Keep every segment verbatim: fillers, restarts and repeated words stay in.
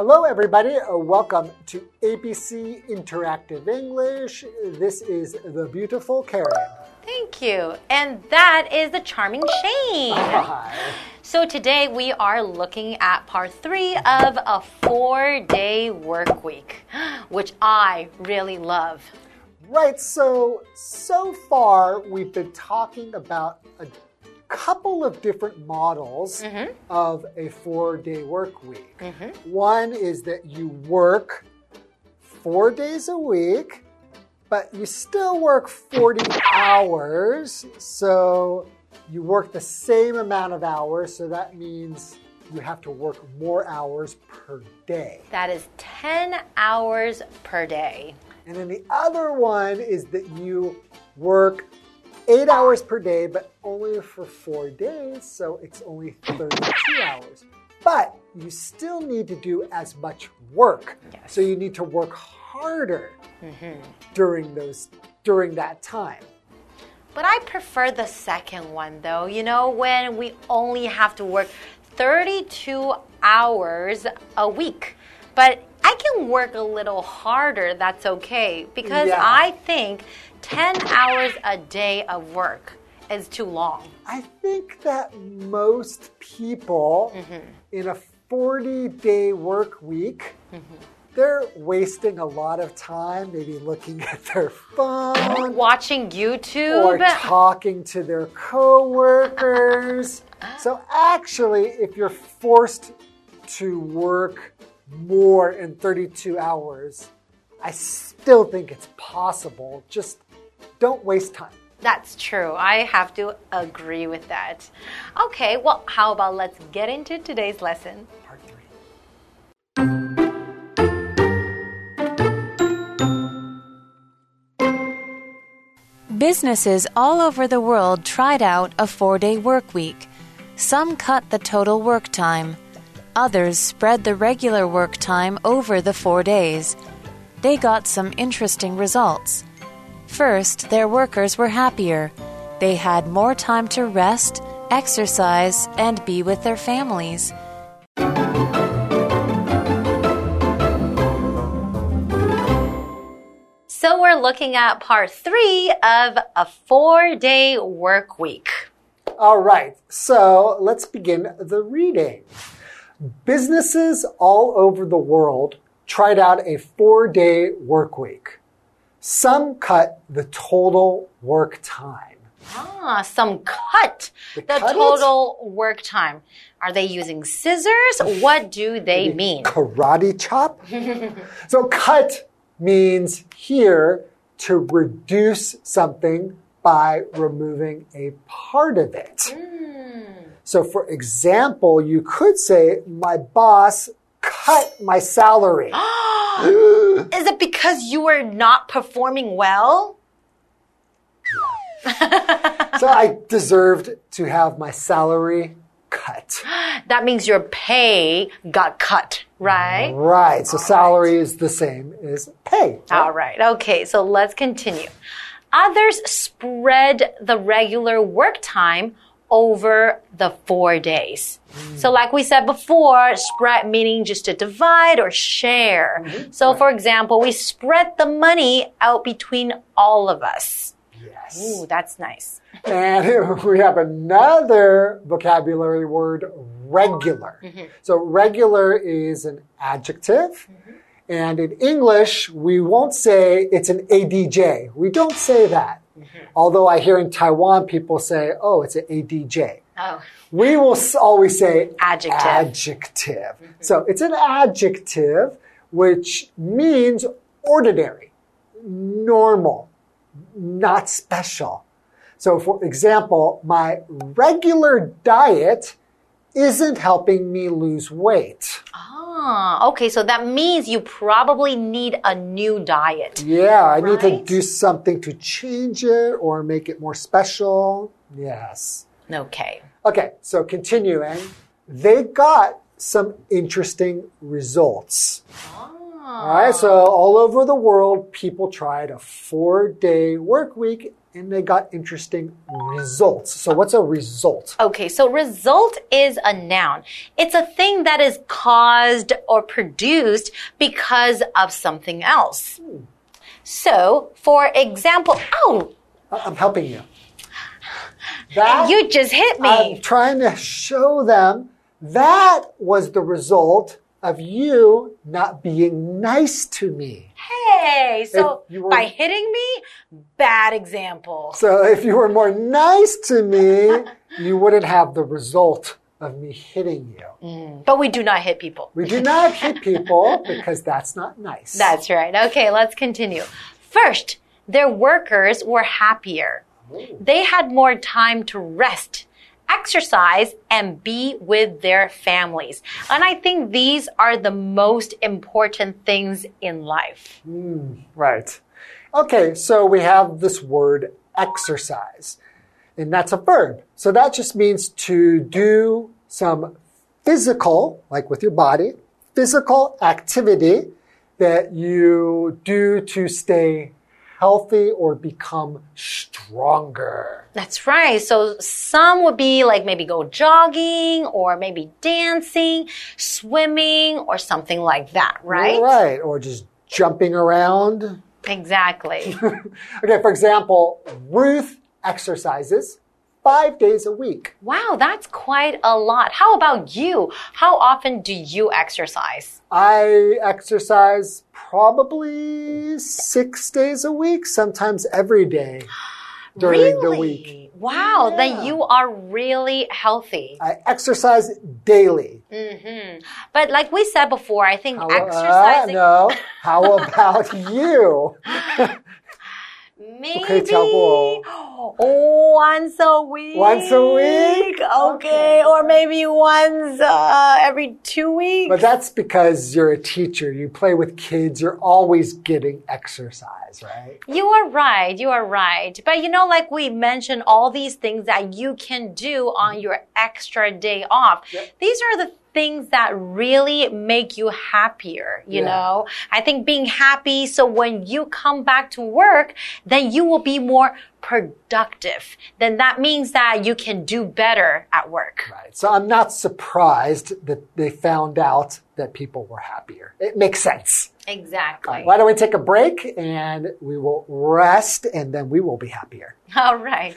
Hello, everybody. Uh, welcome to A B C Interactive English. This is the beautiful Karen. Thank you. And that is the charming Shane. Hi. So today we are looking at part three of a four-day work week, which I really love. Right. So, so far we've been talking about a couple of different models mm-hmm. of a four-day work week. Mm-hmm. One is that you work four days a week, but you still work forty hours. So you work the same amount of hours. So that means you have to work more hours per day. That is ten hours per day. And then the other one is that you work eight hours per day, but only for four days, so it's only thirty-two hours. But you still need to do as much work. Yes. So you need to work harder mm-hmm. during those during that time. But I prefer the second one though. You know, when we only have to work thirty-two hours a week. But I can work a little harder, that's okay. Because yeah. I think ten hours a day of work is too long. I think that most people mm-hmm. in a forty-day work week, mm-hmm. they're wasting a lot of time, maybe looking at their phone. Watching YouTube. Or talking to their coworkers. So actually, if you're forced to work more in thirty-two hours, I still think it's possible. Just don't waste time. That's true. I have to agree with that. Okay, well, how about let's get into today's lesson. Part three. Businesses all over the world tried out a four-day work week. Some cut the total work time. Others spread the regular work time over the four days. They got some interesting results. First, their workers were happier. They had more time to rest, exercise, and be with their families. So we're looking at part three of a four-day work week. All right, so let's begin the reading. Businesses all over the world tried out a four-day work week. Some cut the total work time. Ah, some cut they the cut total it? work time. Are they using scissors? What do they Maybe mean? Karate chop? So cut means here to reduce something by removing a part of it. Mm. So for example, you could say, my boss cut my salary. Is it because you were not performing well? Yeah. So I deserved to have my salary cut. That means your pay got cut, right? Right. So All salary right. is the same as pay. Right? All right. Okay, so let's continue. Others spread the regular work time over the four days. Mm. So like we said before, spread meaning just to divide or share. Mm-hmm. So right. for example, we spread the money out between all of us. Yes. Ooh, that's nice. And we have another vocabulary word, regular. Mm-hmm. So regular is an adjective. Mm-hmm. And in English, we won't say it's an A D J. We don't say that. Mm-hmm. Although I hear in Taiwan, people say, oh, it's an A D J. Oh. We will always say adjective. adjective. Mm-hmm. So it's an adjective, which means ordinary, normal, not special. So for example, my regular diet isn't helping me lose weight. Ah, okay, so that means you probably need a new diet. Yeah, I right? need to do something to change it or make it more special. Yes. Okay. Okay, so continuing. They got some interesting results. Ah. All right, so all over the world, people tried a four-day work week, and they got interesting results. So what's a result? Okay, so result is a noun. It's a thing that is caused or produced because of something else. Hmm. So, for example, oh! I'm helping you. That, you just hit me. I'm trying to show them that was the result of you not being nice to me. Hey, so were, by hitting me, bad example. So if you were more nice to me, you wouldn't have the result of me hitting you. Mm, but we do not hit people. We do not hit people because that's not nice. That's right. Okay, let's continue. First, their workers were happier. Ooh. They had more time to rest, exercise, and be with their families. And I think these are the most important things in life. Mm, right. Okay, so we have this word exercise, and that's a verb. So that just means to do some physical, like with your body, physical activity that you do to stay healthy or become stronger. That's right. So some would be like maybe go jogging or maybe dancing, swimming or something like that, right? Right. Or just jumping around. Exactly. Okay, for example, Ruth exercises five days a week. Wow, that's quite a lot. How about you? How often do you exercise? I exercise probably six days a week, sometimes every day during really? the week. Wow, yeah. Then you are really healthy. I exercise daily. Mm-hmm. But like we said before, I think How, exercising... Uh, no. How about you? Maybe once a week. Once a week? Okay. okay. Or maybe once uh, every two weeks. But that's because you're a teacher. You play with kids. You're always getting exercise, right? You are right. You are right. But you know, like we mentioned, all these things that you can do on your extra day off. Yep. These are the things that really make you happier, you yeah. know? I think being happy, so when you come back to work, then you will be more productive. Then that means that you can do better at work. Right. So I'm not surprised that they found out that people were happier. It makes sense. Exactly. Right, why don't we take a break and we will rest and then we will be happier. All right.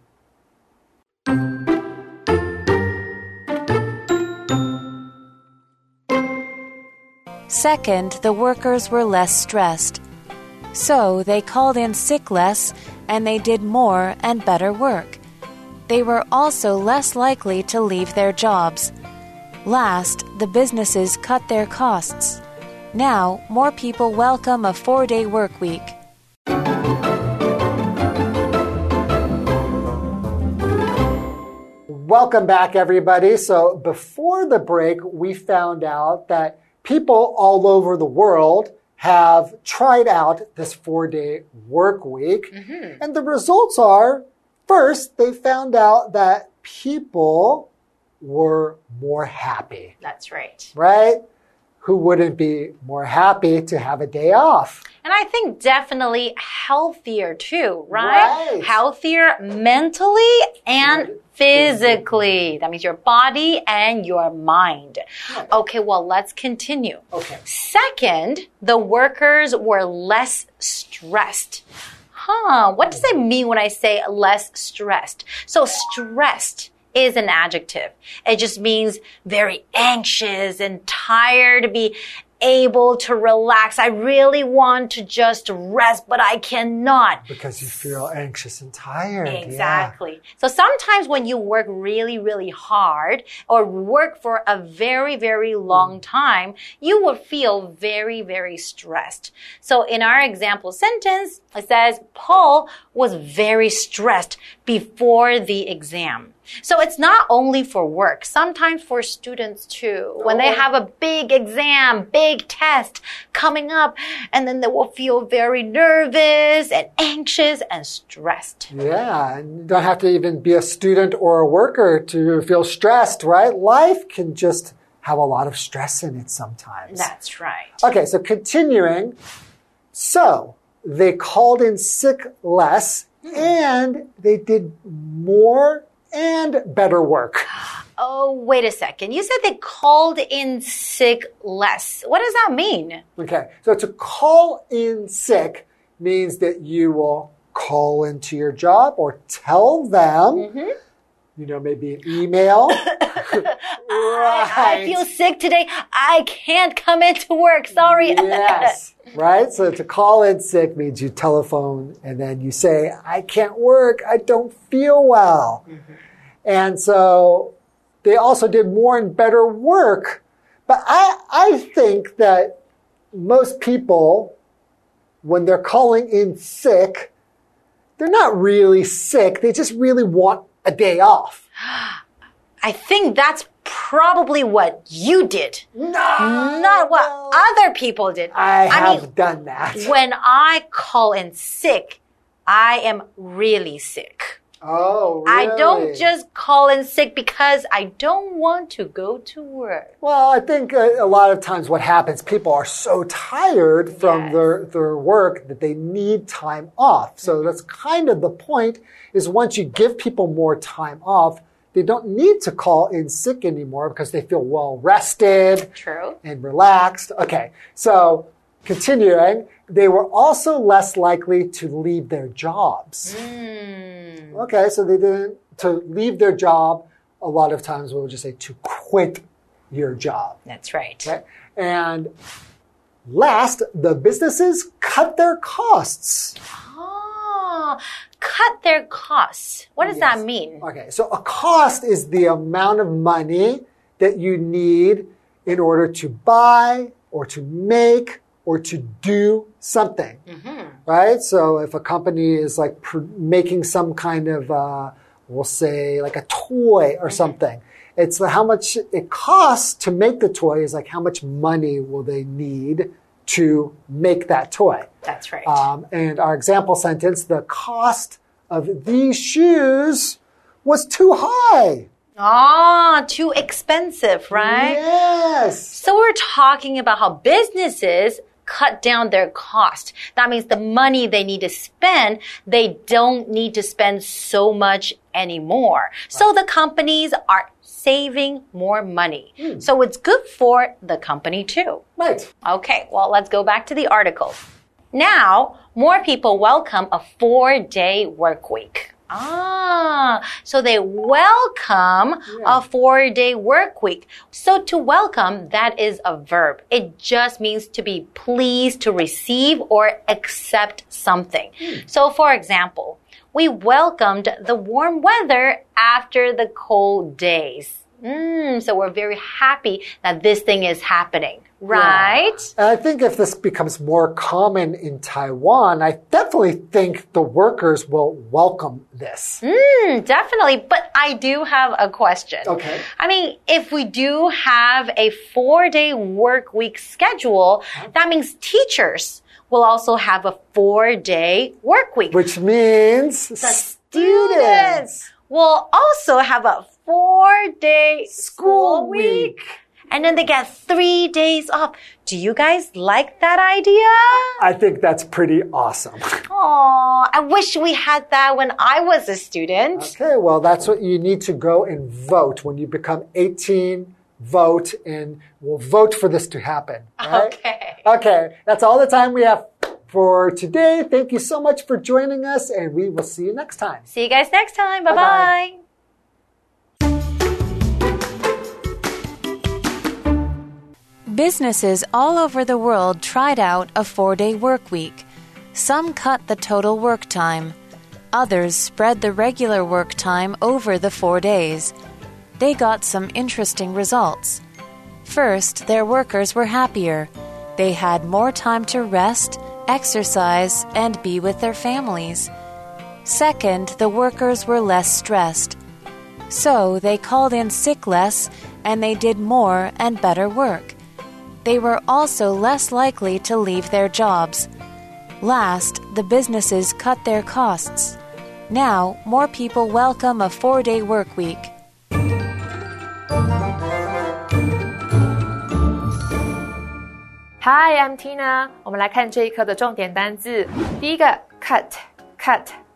Second, the workers were less stressed. So they called in sick less and they did more and better work. They were also less likely to leave their jobs. Last, the businesses cut their costs. Now, more people welcome a four-day work week. Welcome back, everybody. So before the break, we found out that people all over the world have tried out this four-day work week. Mm-hmm. And the results are, first, they found out that people were more happy. That's right. Right? Who wouldn't be more happy to have a day off? And I think definitely healthier too, right? Right. Healthier mentally and physically. That means your body and your mind. Right. Okay, well, let's continue. Okay. Second, the workers were less stressed. Huh, what does it mean when I say less stressed? So stressed is an adjective. It just means very anxious and tired to be able to relax. I really want to just rest, but I cannot. Because you feel anxious and tired. Exactly. Yeah. So sometimes when you work really, really hard or work for a very, very long time, you will feel very, very stressed. So in our example sentence, it says, Paul was very stressed before the exam. So it's not only for work, sometimes for students too. When they have a big exam, big test coming up, and then they will feel very nervous and anxious and stressed. Yeah, and you don't have to even be a student or a worker to feel stressed, right? Life can just have a lot of stress in it sometimes. That's right. Okay, so continuing. So they called in sick less and they did more and better work. Oh, wait a second. You said they called in sick less. What does that mean? Okay, so to call in sick means that you will call into your job or tell them, mm-hmm. you know, maybe an email. Right. I, I feel sick today. I can't come into work. Sorry. Yes. Right? So to call in sick means you telephone and then you say, I can't work. I don't feel well. Mm-hmm. And so they also did more and better work. But I, I think that most people, when they're calling in sick, they're not really sick. They just really want a day off. I think that's probably what you did. No. Not what no. other people did. I, I have mean, done that. When I call in sick, I am really sick. Oh, really? I don't just call in sick because I don't want to go to work. Well, I think a, a lot of times what happens, people are so tired from yes. their, their work that they need time off. So that's kind of the point, is once you give people more time off, they don't need to call in sick anymore because they feel well rested. True. And relaxed. Okay, so continuing, they were also less likely to leave their jobs. Mm. Okay, so they didn't, to leave their job, a lot of times we'll just say to quit your job. That's right. Okay? And last, the businesses cut their costs. Oh, cut their costs. What does yes. that mean? Okay, so a cost is the amount of money that you need in order to buy or to make or to do something, mm-hmm. right? So if a company is like pr making some kind of, uh, we'll say like a toy or mm-hmm. something, it's how much it costs to make the toy is like how much money will they need to make that toy. That's right. Um, and our example sentence, the cost of these shoes was too high. Ah, too expensive, right? Yes. So we're talking about how businesses cut down their cost. That means the money they need to spend, they don't need to spend so much anymore. Right. So the companies are saving more money. Mm. So it's good for the company too. Right. Okay, well, let's go back to the article. Now, more people welcome a four-day work week. Ah, so they welcome yeah. a four-day work week. So to welcome, that is a verb. It just means to be pleased to receive or accept something. Mm. So for example, we welcomed the warm weather after the cold days. Mm, so we're very happy that this thing is happening. Right? Yeah. I think if this becomes more common in Taiwan, I definitely think the workers will welcome this. Mm, definitely. But I do have a question. Okay. I mean, if we do have a four-day work week schedule, that means teachers will also have a four-day work week. Which means the students will also have a four-day school week. And then they get three days off. Do you guys like that idea? I think that's pretty awesome. Aw, I wish we had that when I was a student. Okay, well, that's what you need to go and vote. When you become eighteen, vote, and we'll vote for this to happen. Right? Okay. Okay, that's all the time we have for today. Thank you so much for joining us, and we will see you next time. See you guys next time. Bye-bye. Businesses all over the world tried out a four-day work week. Some cut the total work time. Others spread the regular work time over the four days. They got some interesting results. First, their workers were happier. They had more time to rest, exercise, and be with their families. Second, the workers were less stressed. So they called in sick less, and they did more and better work. They were also less likely to leave their jobs. Last, the businesses cut their costs. Now, more people welcome a four-day work week. Hi, I'm Tina. 我們來看這一課的重點單字。第一個 cut, cut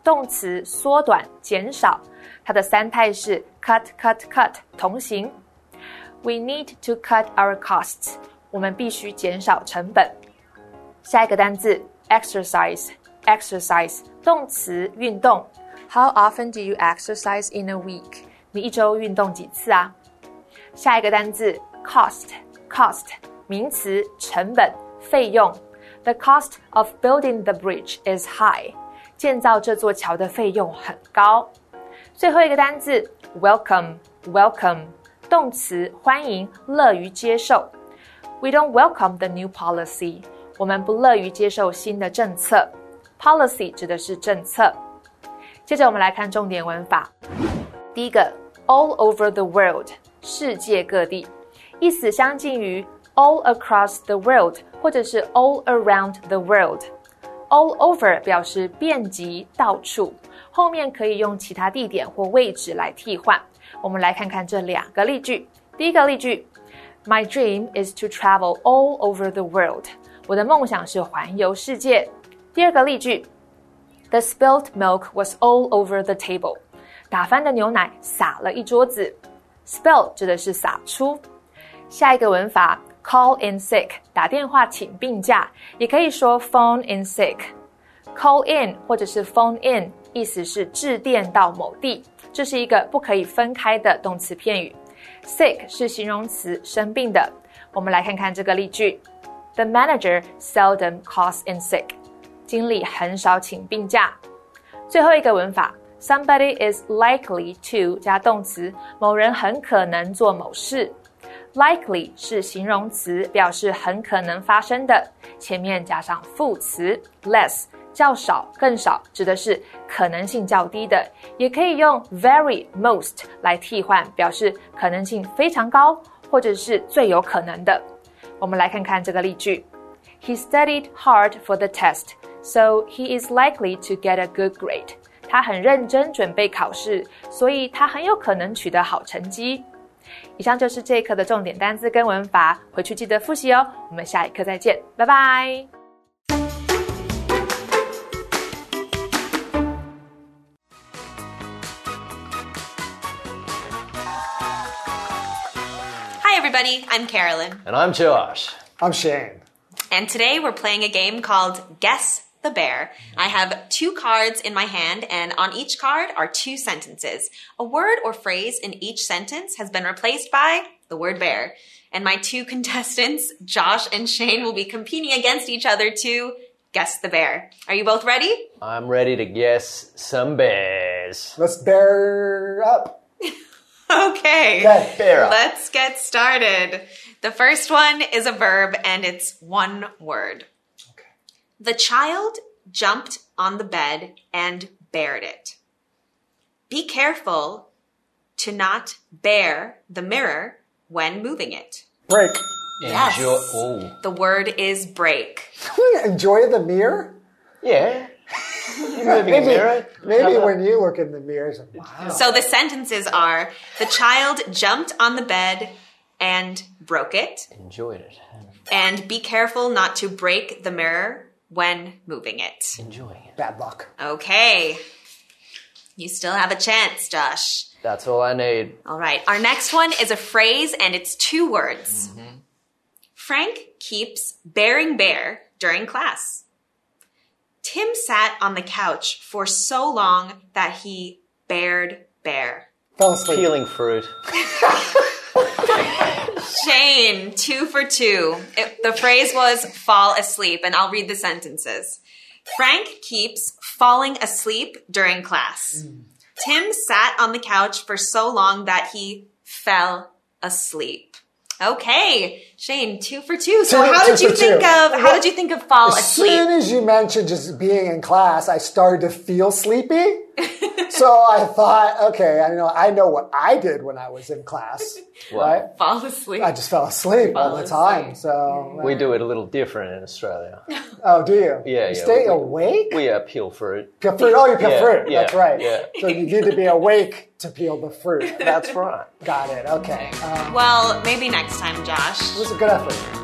動詞縮短減少，它的三態是 cut cut cut 同形。We need to cut our costs. 我們必須減少成本。下一個單字 exercise exercise 動詞運動。How often do you exercise in a week? 你一周運動幾次啊？下一個單字 cost cost 名詞成本費用。The cost of building the bridge is high. 建造這座橋的費用很高。最後一個單字 welcome welcome 動詞歡迎樂於接受。We don't welcome the new policy. 我們不樂於接受新的政策。Policy 指的是政策。接着我們來看重點文法。第一個 all over the world 世界各地，意思相近於 all across the world 或者是 all around the world。 all over 表示遍及到處，後面可以用其他地點或位置來替換。我們來看看這兩個例句。第一個例句 My dream is to travel all over the world. 我的夢想是環遊世界。第二個例句 The spilled milk was all over the table. 打翻的牛奶灑了一桌子。Spill 指的是灑出。下一個文法 call in sick 打電話請病假，也可以說 phone in sick。 call in 或者是 phone in 意思是致電到某地，這是一個不可以分開的動詞片語。Sick 是形容詞生病的。我們來看看這個例句 The manager seldom calls in sick. 經理很少請病假。最後一個文法 Somebody is likely to 加動詞，某人很可能做某事。Likely 是形容詞，表示很可能發生的，前面加上副詞 less 較少更少，指的是可能性較低的，也可以用 very most 來替換，表示可能性非常高或者是最有可能的。我們來看看這個例句 He studied hard for the test, so he is likely to get a good grade. 他很認真準備考試，所以他很有可能取得好成績。以上就是這一課的重點單字跟文法，回去記得複習哦。我們下一課再見，拜拜。 Hi everybody, I'm Carolyn. And I'm Josh. I'm Shane. And today we're playing a game called Guess the Bear. I have two cards in my hand, and on each card are two sentences. A word or phrase in each sentence has been replaced by the word bear. And my two contestants, Josh and Shane, will be competing against each other to guess the bear. Are you both ready? I'm ready to guess some bears. Let's bear up. Okay. Okay, bear up. Let's get started. The first one is a verb, and it's one word. The child jumped on the bed and bared it. Be careful to not bare the mirror when moving it. Break. Yes. Enjoy. Ooh. The word is break. Enjoy the mirror? Yeah. You're moving Maybe, a mirror. maybe when you look in the mirror, it's like, wow. So the sentences are, the child jumped on the bed and broke it. Enjoyed it. And be careful not to break the mirror when moving it. Enjoying it. Bad luck. Okay. You still have a chance, Josh. That's all I need. All right. Our next one is a phrase, and it's two words. Mm-hmm. Frank keeps bearing bear during class. Tim sat on the couch for so long that he bared bear. Fell asleep. Peeling fruit. Shane, two for two. It, the phrase was fall asleep, and I'll read the sentences. Frank keeps falling asleep during class. Mm. Tim sat on the couch for so long that he fell asleep. Okay, Shane, two for two. So two, how did two you think two. of how well, did you think of fall as asleep? As soon as you mentioned just being in class, I started to feel sleepy. So I thought, okay, I know I know what I did when I was in class, What? right? Fall asleep. I just fell asleep Fall all the asleep. time. So We do it a little different in Australia. Oh, do you? Yeah, you yeah. Stay we, awake? We uh, peel fruit. Peel fruit. Oh, you peel Yeah, fruit. yeah, That's right. yeah. So you need to be awake to peel the fruit. That's right. Got it. Okay. Um, Well, maybe next time, Josh. it was a good effort.